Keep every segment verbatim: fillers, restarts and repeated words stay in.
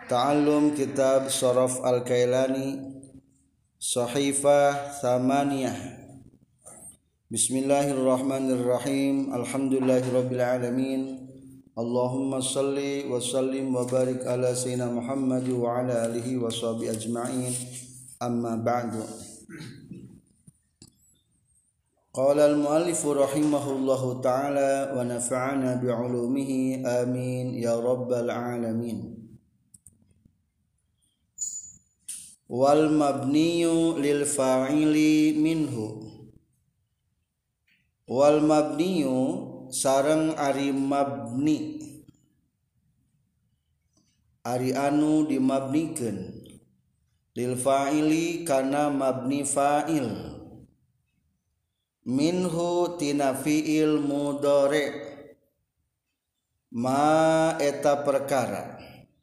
Ta'allum Kitab Sharaf Al-Kailani Sahifah Thamaniyah. Bismillahirrahmanirrahim. Alhamdulillahirabbil alamin. Allahumma salli wa sallim wa barik ala sayyidina Muhammad wa ala alihi wa sahbihi ajma'in. Amma ba'du. Qala al-muallif rahimahullahu ta'ala wa nafa'ana bi'ulumihi amin ya rabbal alamin. Wal mabniyu lil fa'ili minhu. Wal mabniyu sareng ari mabni, ari anu dimabnikeun, lil fa'ili kana mabni fa'il, minhu tina fi'il mudhari, ma eta perkara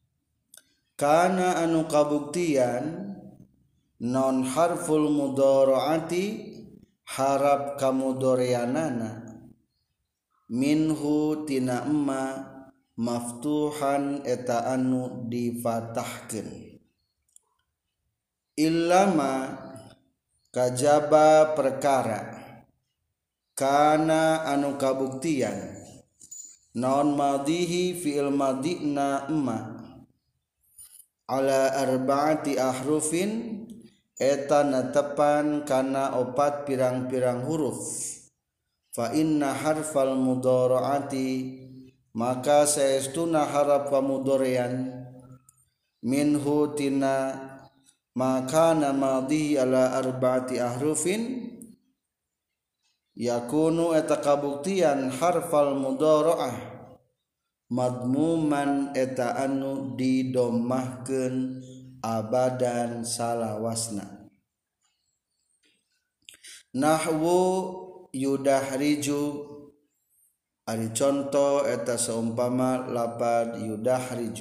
kana anu kabuktian non harful mudharaati harap kamudharianana, minhu tina emma maftuhan eta anu difatahkeun, illama kajaba perkara kana anu kabuktian non madhihi fi'il madina emma ala arba'ati ahrufin eta natepan kana opat pirang-pirang huruf, fa inna harfal mudharaati maka saestuna harap pamudharian, minhu tina maka madhi ala arba'ati ahrufin yakunu eta kabuktian harfal mudharaah madmuman eta anu didomahkeun abadan salawasna. Nahwu yudahriju ari contoh eta seumpama lapad yudahriju,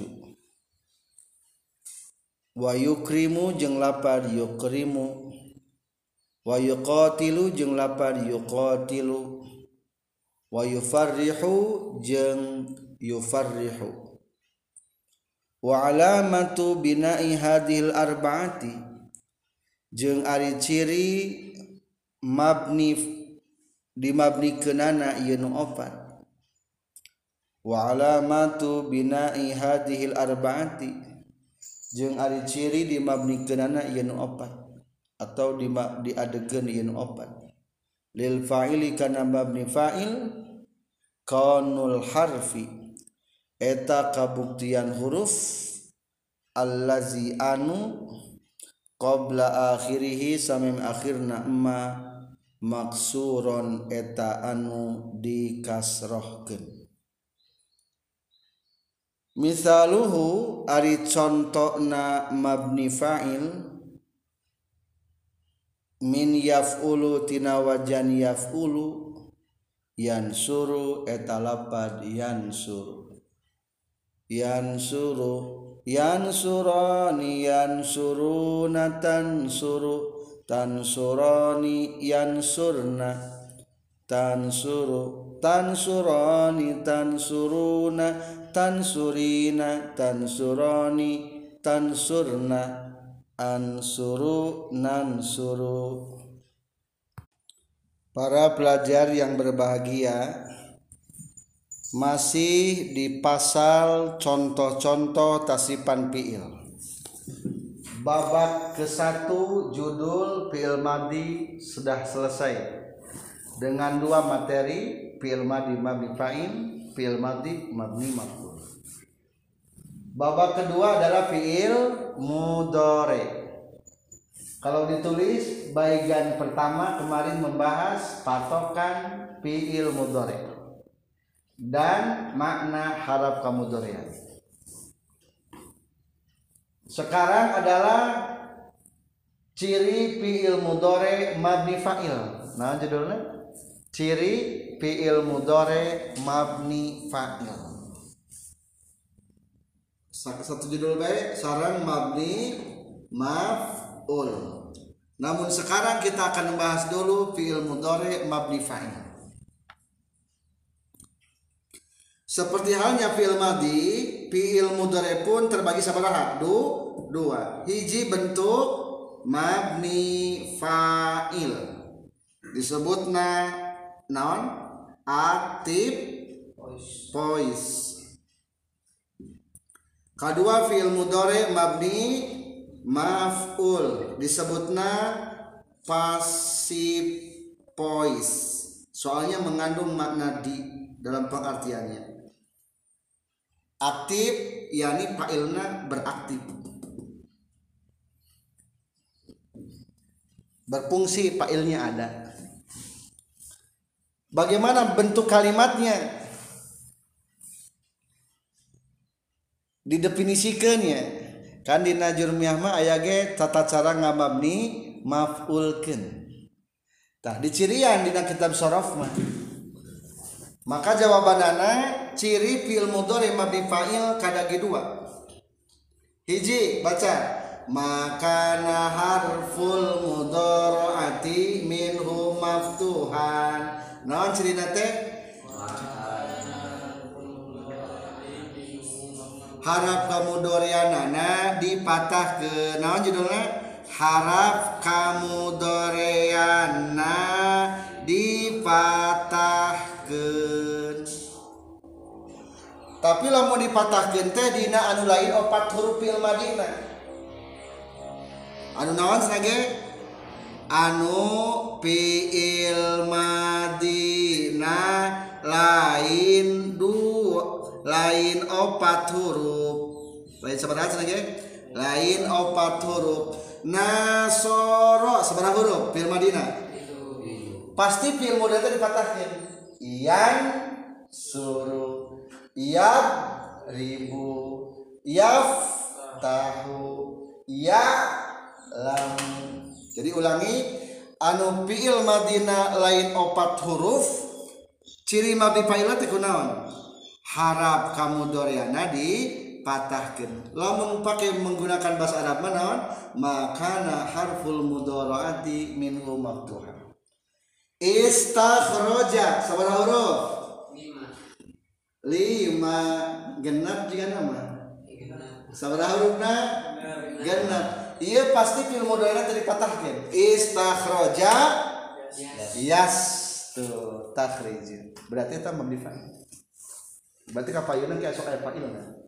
wa yukrimu jeung lapad yukrimu, wa yuqatilu jeung lapad yuqatilu, wa yufarrihu jeung yufarrihu. Wa alamatu bina'i hadhil arba'ati jeung ari ciri mabni dimabnikeunana ieu nu opat. Wa alamatu bina'i hadhil arba'ati jeung ari ciri dimabnikeunana ieu nu opat atau diadegeun ieu nu opat. Lil fa'ili kana mabni fa'il kaunul harfi eta kabuktian huruf allazi anu qabla akhirih samim akhirna emma maksuron eta anu dikasrohkeun. Misaluhu ari contona mabni fa'il min yaf'ulu tina wajan yaf'ulu yansuru eta lapad yansuru, yansuru yansurani yansuruna tansuru tansurani yansurna tansuru tansurani tansuruna tansurina tansurani tansurna ansuru nansuru. Para pelajar yang berbahagia, masih di pasal contoh-contoh tasipan fi'il. Babak ke satu judul fi'il madhi sudah selesai dengan dua materi, fi'il madhi mabni fa'il, fi'il madhi mabni maf'ul. Babak kedua adalah fi'il mudhari. Kalau ditulis bagian pertama kemarin membahas patokan fi'il mudhari dan makna harap kamudharian. Sekarang adalah ciri fi'il mudhari mabni fa'il. Nah judulnya ciri fi'il mudhari mabni fa'il. Satu judul baik sarang mabni maf'ul. Namun sekarang kita akan membahas dulu fi'il mudhari mabni fa'il. Seperti halnya fi'il madhi, fiil mudhari pun terbagi sabaraha? Du, dua. Hiji bentuk mabni fa'il. Disebutna naon? Active voice. Kedua fiil mudhari mabni maf'ul. Disebutna passive voice. Soalnya mengandung makna di dalam pengertiannya. Aktif yakni fa'ilna beraktif, berfungsi, fa'ilnya ada. Bagaimana bentuk kalimatnya? Didefinisikannya kan di najurmiyah mah aya ge tata cara ngamabni maf'ulkeun. Tah dicirian dina kitab sharaf mah. Maka jawabanana ciri fi'il mudhari mabni fa'il kadagi dua. Hiji baca makana harful mudhari'ati minhu maftuhan. Naon cirina teh? Harap kamudhari'anana dipatahkeun. Naon judulna? Harap kamudhari'anna dipatahkeun. Tapi lamun dipatahkeun teh dina anu lain opat huruf fi'il madina. Anu naon sanage? Anu fi'il madina lain dua, lain opat huruf. Lain sabaraha sanage? Lain opat huruf. Nasoro sabaraha huruf fi'il madina? Pasti fi'il mudhari dipatahkeun. Iyan suruh, iyab ribu, yaf tahu, ya lam. Jadi ulangi, anu fi'il madina lain opat huruf, ciri mabni fa'il teh kunaon? Harap kamudhari'ana dipatahkeun. Lamun pake menggunakan bahasa Arab mah naon? Makana harful mudhari'ati minhu maftuhan. Istakhraja sabaraha huruf? Lima. Genap juga nama sabaraha hurufna? Genap. Iya pasti fi'il mudhari tadi patahkeun. Istakhraja yas tuh takhrij. Berarti eta mabni fa'il. Berarti ka fa'ilna ki sok aya fa'ilna.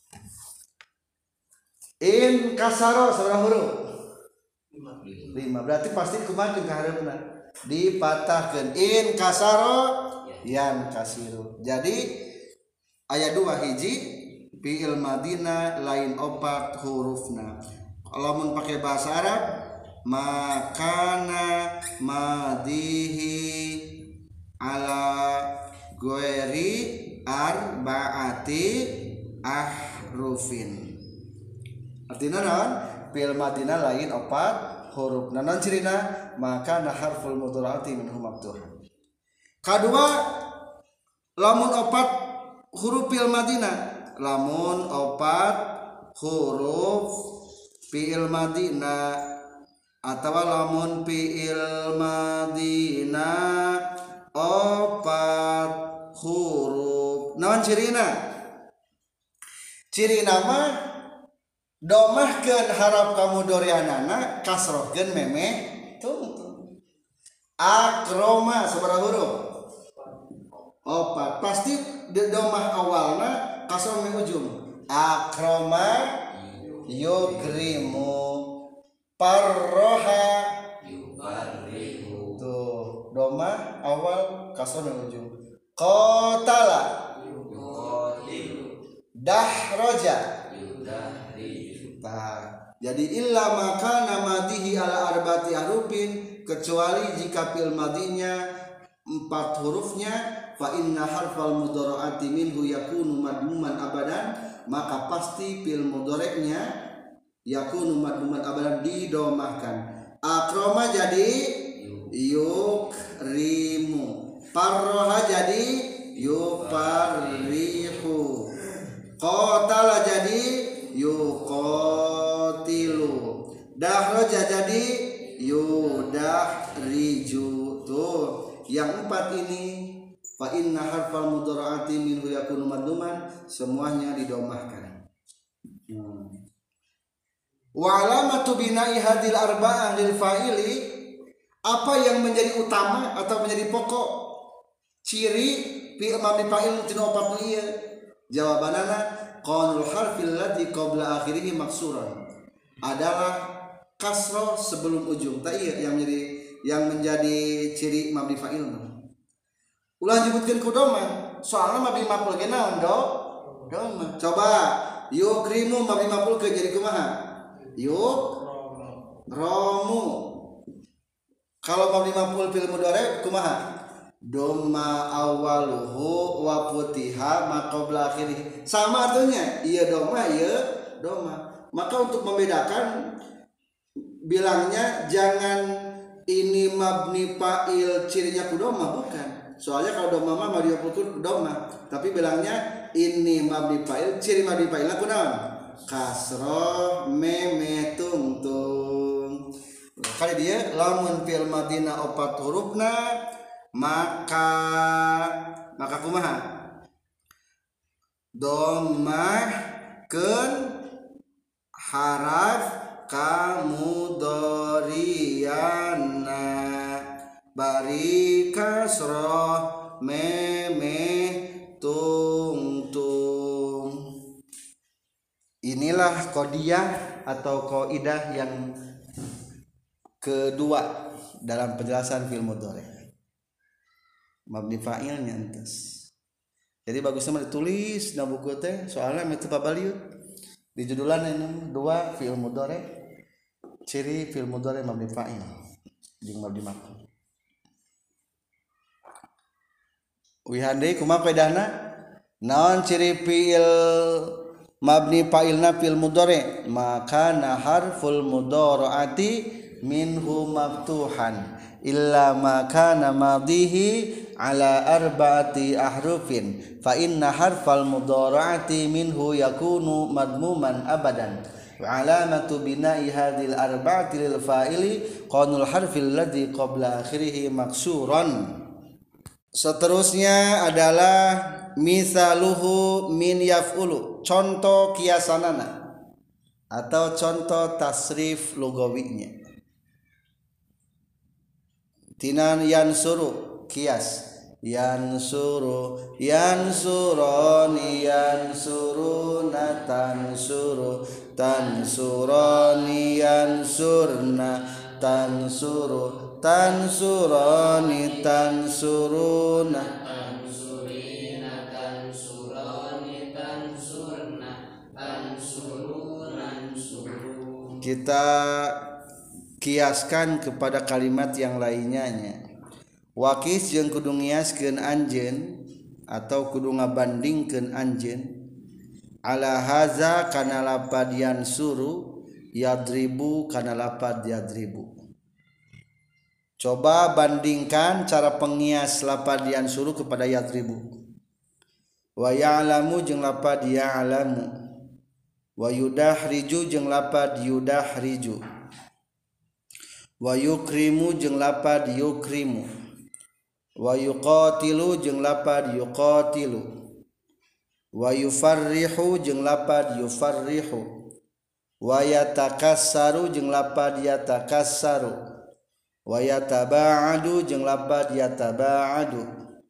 In kasaro sabaraha huruf? Lima. Berarti pasti kumaha jeung ka hareupna? Dipatahkeun. In kasaro yan kasiru. Jadi ayat dua hiji fi'il madina lain opat hurufna. Lamun pakai bahasa Arab makana madihi ala ghairi arba'ati ahrufin. Artinya naon? Fi'il madina lain opat huruf. Nanon cirina? Maka harful mudhari'ati minhu maftuhan. Kedua, lamun opat huruf fi'il madina, lamun opat huruf fi'il madina atau lamun fi'il madina opat huruf. Naon cirina? Cirina mah domahkeun harap kamudhari'anana kasrohkeun memeh tungtung. Akroma sabaraha huruf? Opat. Pasti domah awalna kasroh memeh ujung. Akroma yukrimu, parroha yubarrihu. Tuh domah awal kasroh memeh ujung. Qatala yuqatilu, dahroja yudahriju. Nah, jadi illa maka namadihi ala arbati harufin, kecuali jika fi'il madinya empat hurufnya, fa inna harfal mudhari'ati minhu yakunu madmuman abadan, maka pasti fi'il mudhari'nya yakunu madmuman abadan didomahkan. Akroma jadi yukrimu, parroha jadi yuparrihu, qatala jadi yuqatilu, dahroja jadi yudahriju. Tuh yang empat ini fa inna harfal mudharaati minhu yakunu madmuman, semuanya didomahkan. hmm. Wa alamatu bina'i hadil arba'ah lil fa'ili, apa yang menjadi utama atau menjadi pokok ciri fi'il mabni fa'il tina opat ieu? Jawabanana qaulul harfil ladzi qabla akhirih maksuran, adalah kasroh sebelum ujung. Tak iya yang menjadi yang menjadi ciri mabni fa'il. Ulah nyebutkeun ku doma, soalna mabni maf'ul ge naon do? Doma. Coba yukrimu mabni maf'ul ke jadi kumaha? Yuk romu. Kalau mabni maf'ul fil mudhari kumaha? Doma awaluhu wa futiha ma qabla akhirih. Sama artinya, iya doma, iya doma. Maka untuk membedakan, bilangnya jangan ini mabni fa'il cirinya kudoma, bukan. Soalnya kalau doma mah mabni maf'ul doma, tapi bilangnya ini mabni fa'il, ciri mabni fa'ilna kunaon? Kasroh meme tungtung. Kali dia lamun fil madina opat hurufna, maka maka kumaha? Domah keun haraf kamudhariana bari kasroh meme tungtung. Inilah qadiyah atau qaidah yang kedua dalam penjelasan fi'il mudhari. Mabni fa'ilnya entes. Jadi bagusnya mah ditulis na buku teh, soalnya mah teu pabaliut. Di judulan ini dua fi'il mudhari, ciri fi'il mudhari mabni fa'il jeung mabni maf'ul. Wihande kumaha qaidahna? Naon ciri fi'il mabni fa'ilna fil mudhari? Maka na harful mudharaati minhu maftuhan illa ma kana madihi ala arba'ati ahrufin fa inna harfal mudharaati minhu yakunu madmuman abadan wa alamatu bina'i hadhil arba'ati lil fa'ili qaulul harfil ladzi qabla akhirih maksuran. Seterusnya adalah misaluhu min yaf'ulu, contoh kiasanana atau contoh tasrif lugawinya. Tinan yansuru kias, yansuru yansuroni yansuruna tansuru tansuroni yansurna tansuru tansuroni tansuruna tansurina tansuroni tansurna tansuruna tansurun. Kita kiaskan kepada kalimat yang lainnya nya. Wakis jeung kudu ngiaskeun anjeun atau kudu ngabandingkeun anjeun ala haza kana lapad yansuru yadribu kana lapad yadribu. Coba bandingkan cara pengias lapad yansuru kepada yadribu. Wa ya'lamu jeung lapad ya'lamu. Wa yudahriju jeung lapad yudahriju. Wa yukrimu jeung lapad yukrimu. Wa yuqatilu jeung lapad yuqatilu. Wa yufarrihu jeung lapad yufarrihu. Wa yatakassaru jeung lapad yatakassaru. Wa yataba'adu jeung lapad yataba'adu.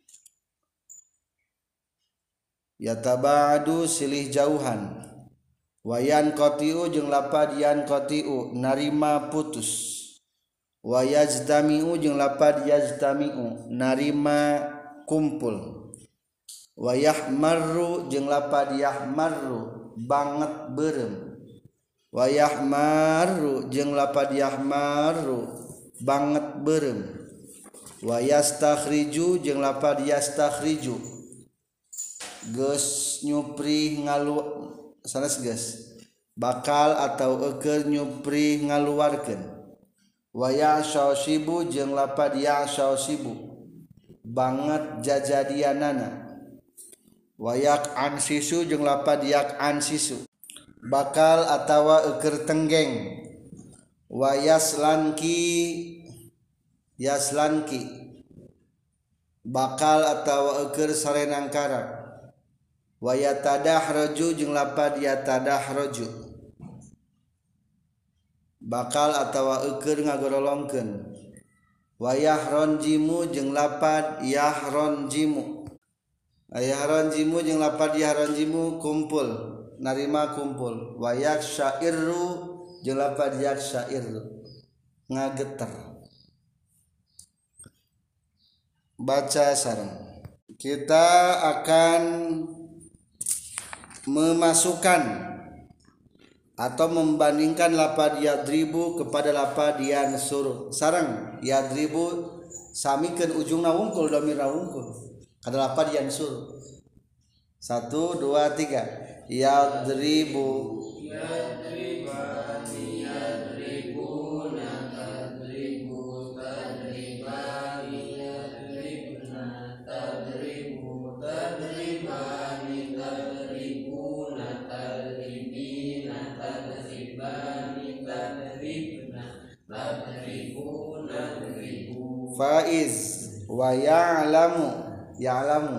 Yataba'adu silih jauhan. Wa yanqati'u jeung lapad yanqati'u narima putus. Wa yajtami'u jeung lapad yajtami'u narima kumpul. Wa yahmarru jeung lapad yahmarru banget beureum. Wa yahmarru jeung lapad yahmarru banget beureum. Wa yastakhriju jeung lapad yastakhriju geus nyupri ngalu sanes geus bakal atau eukeun nyupri ngaluarkeun. Wa ya'syasibu jeung lapad ya'syasibu banget jajadianana. Wa yaq'ansisu jeung lapad yaq'ansisu bakal atawa eukeur tenggeng. Wa yaslanki yaslanki bakal atawa eukeur sarenangkara wa yatadahraju jeung lapad yatadahraju bakal atawa eukeur ngagorolongkeun wa yahronjimu jeung lapad yahronjimu yahronjimu jeung lapad yahronjimu kumpul narima kumpul wa yaksyairu jeung lapad yaksyairu ngageter baca sareng kita akan memasukkan atau membandingkan lapad yadribu kepada lapad yansuru sareng yadribu samikeun ujungna wungkul dhamirna wungkul kada lapad yansuru satu dua tiga yadribu yadribani yadribuna tadribu tadribani yadribna tadribu tadribani tadribuna tadribina tadribani tadribna tadribuna tadribu faiz wa ya'lamu ya'lamu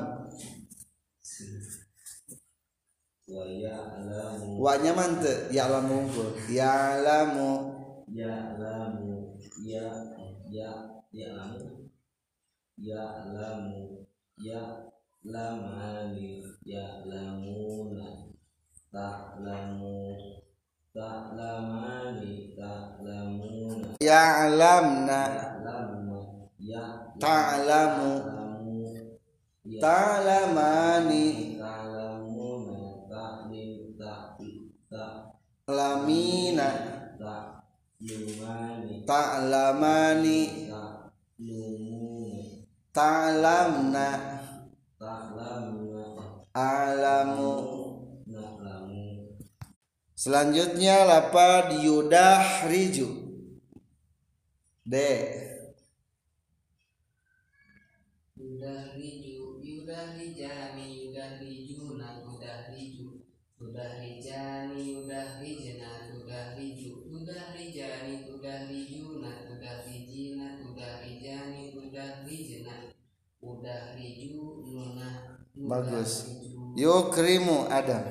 wa ya'lamu wa nyaman teu ya'lamu unggul ya'lamu ya'lamu ya ya ya'lamu ya'lamu ya'lamani ya'lamuna ta'lamu ta'lamani ta'lamuna ya'lamna ya'lamna ya ta'lamu ta'lamani ta'lamuna ta'lim ta'lamina ta'lumani ta'lamani ta'lumuna ta'lamna ta'lamna a'lamu na'lamu. Selanjutnya lapad yudahriju D yudahriju yudahrijani yudahrijuna yudahriju yudahrijani yudahrijna yudahriju yudahrijani yudahrijuna yudahrijina yudahrijani yudahrijna yudahriju bagus yukrimu Adam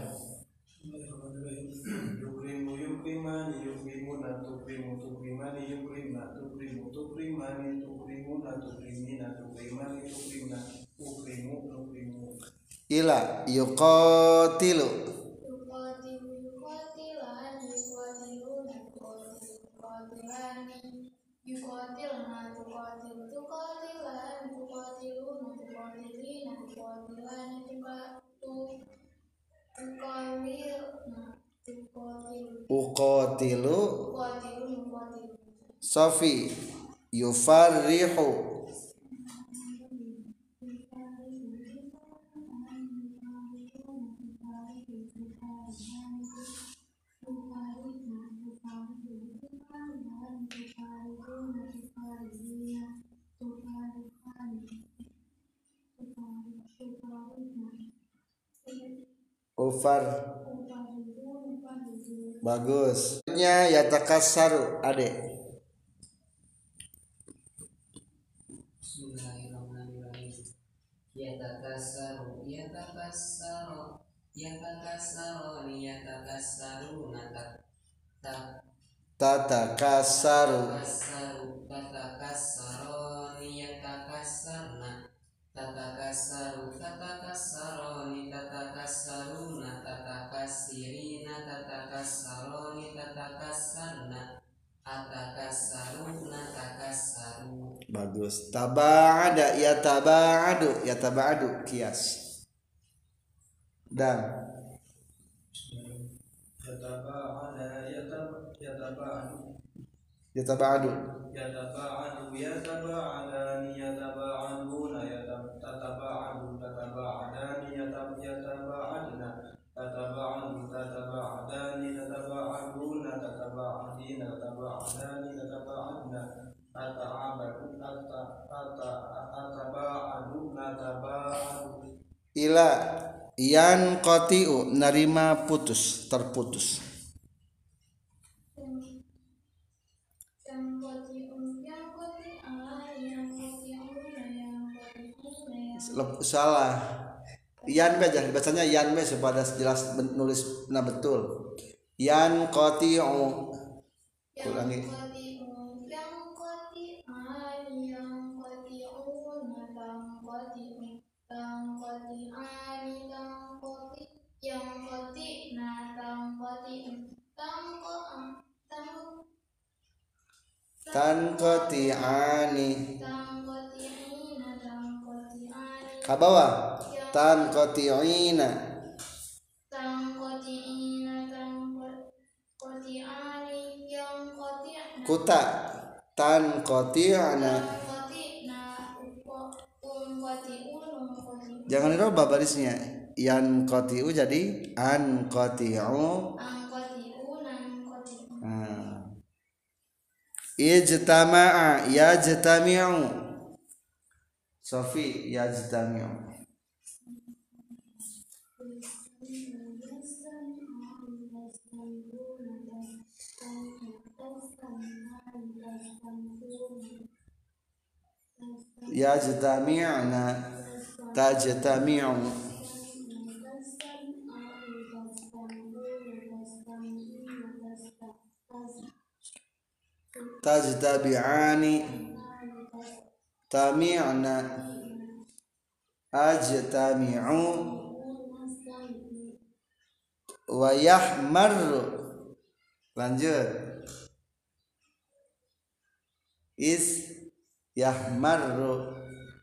yukrimu yukrimani yukrimuna tukrimu tukrimani yukrimna tukrimu tukrimani tukrimuna tukrimina tukrimani tukrimna tukrimu tukrimu ila yuqatilu yuqatilu yuqatilan yuqatiluna yuqatilani yuqatilna tuqatilu tuqatilan tuqatiluna tuqatilina tuqatilani tuqatu tuqatilna tuqatilu uqatilu tuqatilu tuqatilu Sofi yufarrihu Ufar bagus nya yatakassaru ade Bismillahirrahmanirrahim yatakassaru yatakassaru yatakassaru yatakassaruna tak tatakassaru takassaru tatakassaruni yatakassarna tatakassaru tatakassaruni tatakassaruna tatakassirina tatakassaruni tatakassarna atakassaruna takassaru bagus taba'ada ya taba'adu ya taba'adu kias dan yataba'ada yatab yataba'adu yataba'adu yataba'adu yataba'adani yataba'aduna yatab tataba'adu tataba'adani yatab yataba'adna tataba'adu tataba'adani tataba'aduna tataba'adina tataba'adani tataba'adna tata'abadu tata tata tataba'adu nataba'adu ila yan qati'u narima putus terputus salah yan be aja bacanya yan be supaya jelas nulis nah betul yan qati'u ulangi yang qati'an yang qati'una yang qati'u yang qati'an yang qati yang qati'na yang qati'u yang qati'an tan qati'ani yang qati'ina yang qati'ani ka bawah tan qati'ina yang qati'ina yang qati'ani yang qati'na kuta tan qati'ana jangan dirubah barisnya yan qati'u jadi an qati'u nah. Ijtama'a yajtami'u Sofi yajtami'u yajtami'na tajtami'u tajtabi'ani tami'na ajtami'u wa yahmarru lanjut is yahmarru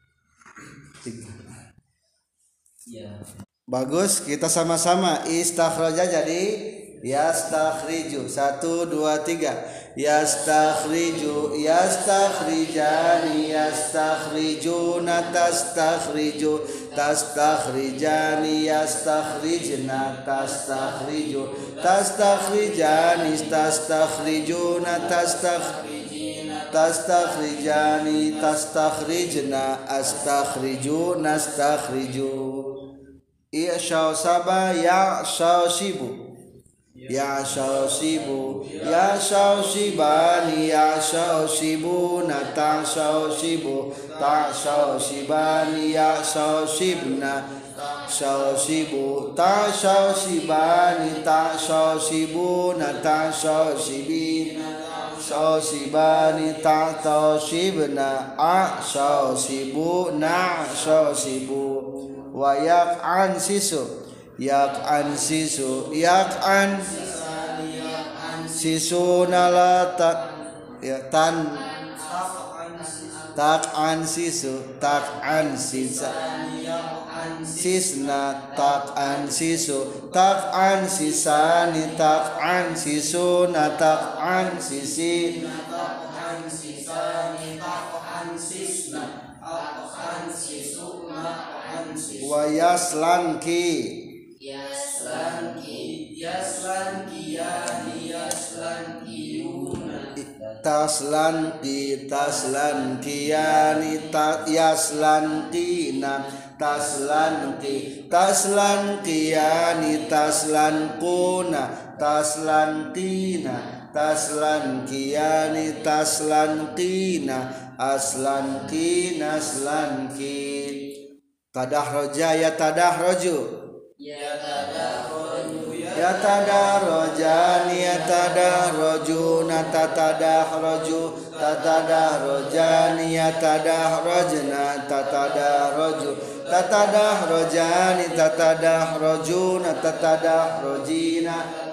ya. Bagus kita sama-sama istakhraja jadi yastakhriju satu dua tiga yastakhriju yastakhrijani yastakhrijuna tastakhriju tastakhrijani yastakhrijna tastakhriju tastakhrijani tastakhrijuna tastakhrijina tastakhrijani tastakhrijna astakhriju nastakhriju i'shaw saba ya'shaw shibu ya shawshibu ya shawshibani ya shawshibuna ta shawshibu ta shawshibani ya shawshibna shawshibu ta shawshibani ta shawshibuna ta shawshibina shawshibani ta tawshibna a shawshibuna shawshibu wa yaq'an sisu yak'an sisu yak'an sisu nalata ya tan tak'an sisu tak'an sisa sisna tak'an sisu tak'an sisani tak'an sisu na tak'an sisi tak'an sisani tak'an sisna tak'an sisu tak'an sisu wa yaslanki yaslanki yaslanki yani yaslanki yuna taslanki taslanki yani ta yaslanki na taslanki taslanki yani taslankuna taslantina taslanki yani taslankina aslanki naslanki tadahroja ya tadahroju yatadarrojani yatadarrojuna tatadahraju tatadahrojani yatadahrojna tatadahraju tatadahrojani tatadahrojuna tatadahrojina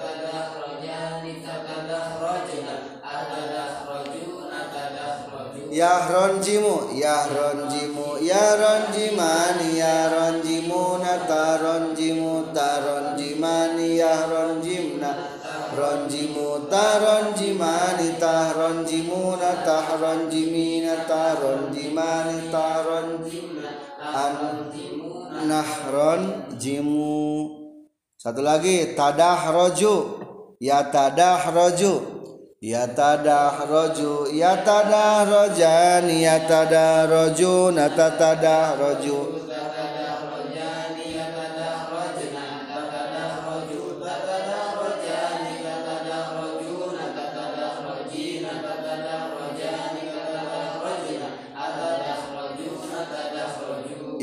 yahronjimu yahronjimu yahronjimani yahronjimuna taronjimu taronjimani yahronjimna ronjimu taronjimani tahronjimuna tahronjimina taronjimani taronjimna nahronjimu. Satu lagi tadahroju yatadahroju yatadahroju yatadahrojani yatadarrojuna tatadahraju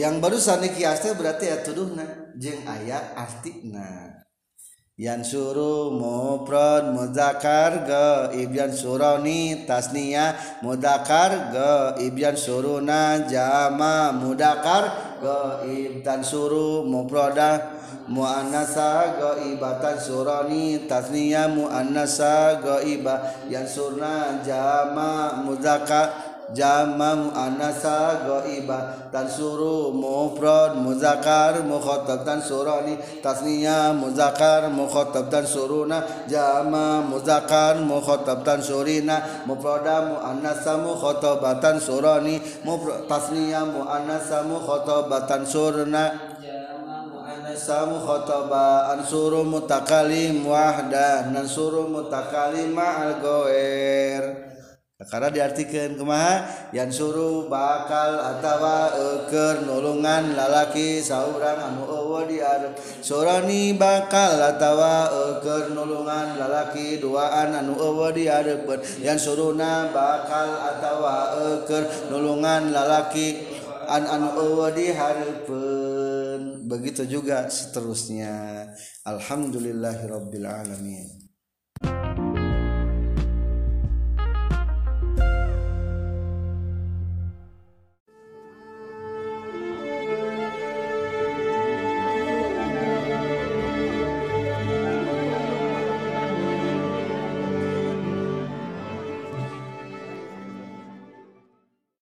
yang barusan kias teh berarti ya tuduhna jeung aya artina. Yansuru mufrad muzakkar gaib yansuruni tasniyah muzakkar gaib yansuruna jama muzakkar gaib tansuru mufradah muannasa gaibatan surani tasniyah muannasa gaibah yansurna jama muzakkar jama muannasa ghaibah tansuru mufrad muzakkar mukhatab tansurani tasniyah muzakkar mukhatab tansuruna jama muzakkar mukhatab tansurina mufrada muannasa mukhatabatan surani mufrad tasniyah muannasa mukhatabatan surna jama muannasa mukhataba ansuru mutakalim wahdah nansuru mutakalim ma'al ghair. Karena diartikan kumaha yang suruh bakal atawa eker nulungan lalaki saurang anu eueuh di arep surani bakal atawa eker nulungan lalaki duaan anu eueuh di areupeun yang suruna bakal atawa eker nulungan lalaki an anu eueuh di hareupeun begitu juga seterusnya. Alhamdulillahirabbil alamin.